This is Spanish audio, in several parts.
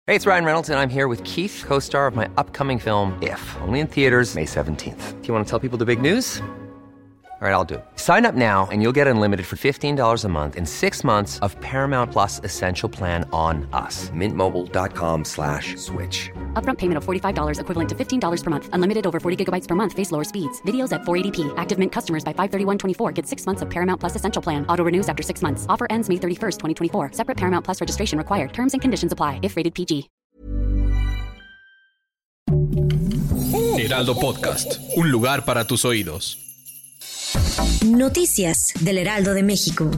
Hey, it's Ryan Reynolds, and I'm here with Keith, co-star of my upcoming film, If, only in theaters May 17th. Do you want to tell people the big news? All right, I'll do it. Sign up now and you'll get unlimited for $15 a month and 6 months of Paramount Plus Essential Plan on us. MintMobile.com/switch. Upfront payment of $45 equivalent to $15 per month. Unlimited over 40 gigabytes per month. Face lower speeds. Videos at 480p. Active Mint customers by 531.24 get 6 months of Paramount Plus Essential Plan. Auto renews after 6 months. Offer ends May 31st, 2024. Separate Paramount Plus registration required. Terms and conditions apply if rated PG. Heraldo Podcast. Un lugar para tus oídos. Noticias del Heraldo de México.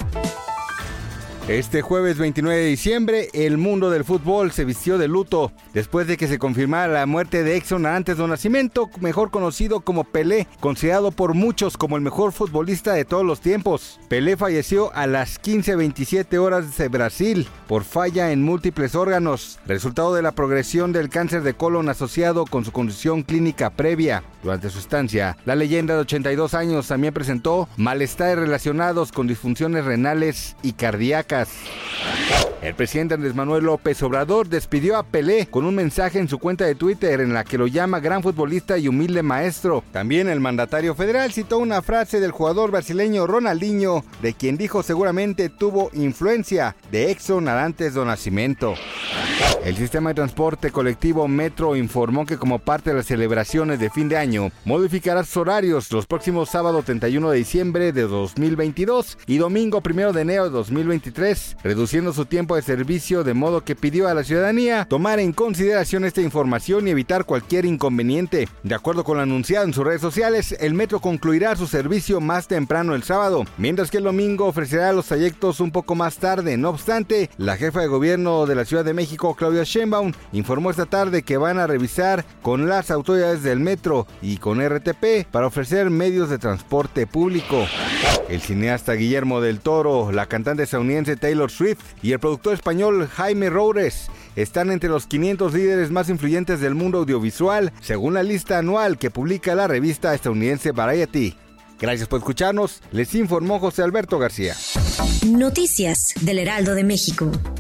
Este jueves 29 de diciembre, el mundo del fútbol se vistió de luto después de que se confirmara la muerte de Edson Arantes do Nascimento, mejor conocido como Pelé, considerado por muchos como el mejor futbolista de todos los tiempos. Pelé falleció a las 15:27 horas de Brasil por falla en múltiples órganos, resultado de la progresión del cáncer de colon asociado con su condición clínica previa. Durante su estancia, la leyenda de 82 años también presentó malestares relacionados con disfunciones renales y cardíacas. El presidente Andrés Manuel López Obrador despidió a Pelé con un mensaje en su cuenta de Twitter en la que lo llama gran futbolista y humilde maestro. También el mandatario federal citó una frase del jugador brasileño Ronaldinho, de quien dijo seguramente tuvo influencia de Edson Arantes do Nascimento. El sistema de transporte colectivo Metro informó que como parte de las celebraciones de fin de año, modificará sus horarios los próximos sábado 31 de diciembre de 2022 y domingo 1 de enero de 2023, reduciendo su tiempo de servicio, de modo que pidió a la ciudadanía tomar en consideración esta información y evitar cualquier inconveniente. De acuerdo con lo anunciado en sus redes sociales, el Metro concluirá su servicio más temprano el sábado, mientras que el domingo ofrecerá los trayectos un poco más tarde. No obstante, la jefa de gobierno de la Ciudad de México, Claudia Sheinbaum, informó esta tarde que van a revisar con las autoridades del Metro y con RTP para ofrecer medios de transporte público. El cineasta Guillermo del Toro, la cantante estadounidense Taylor Swift y el productor español Jaime Roures están entre los 500 líderes más influyentes del mundo audiovisual, según la lista anual que publica la revista estadounidense Variety. Gracias por escucharnos, les informó José Alberto García. Noticias del Heraldo de México.